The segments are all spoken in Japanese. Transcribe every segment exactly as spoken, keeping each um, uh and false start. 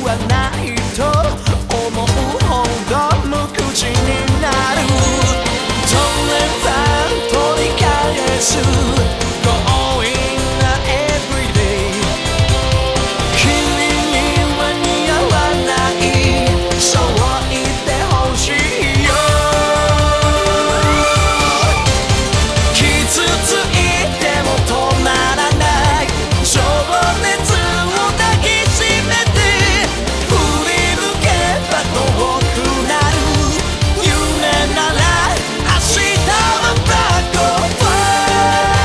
はないと思うほど無口になる。取れば取り返す Going everyday 君には似合わない、そう言ってほしいよ。傷ついても止まらない情熱を抱きしめて、振り抜けば遠くなる夢なら明日は Black or White。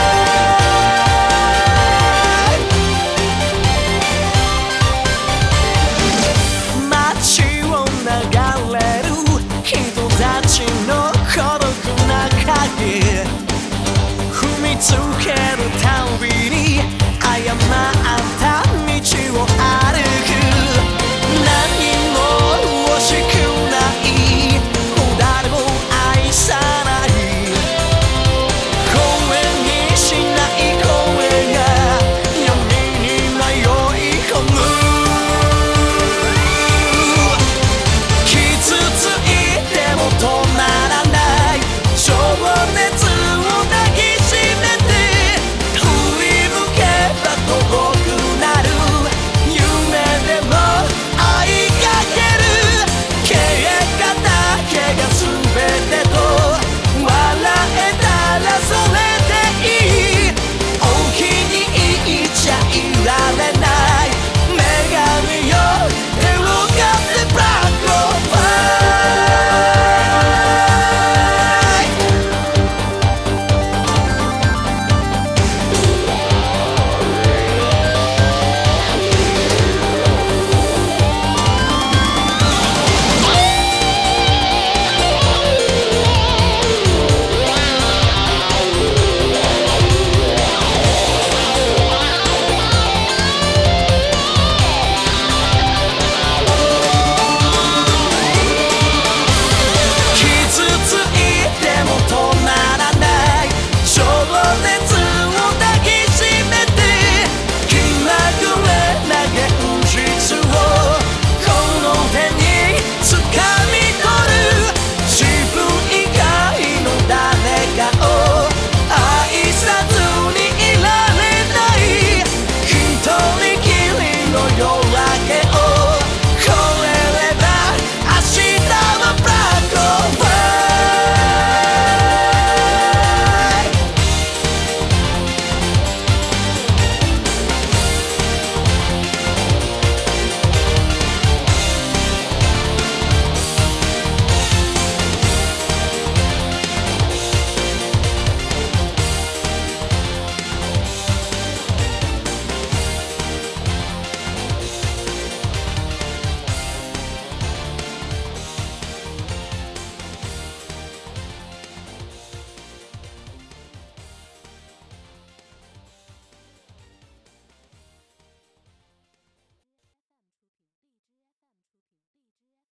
街を流れる人たちの孤独な影、踏みつけ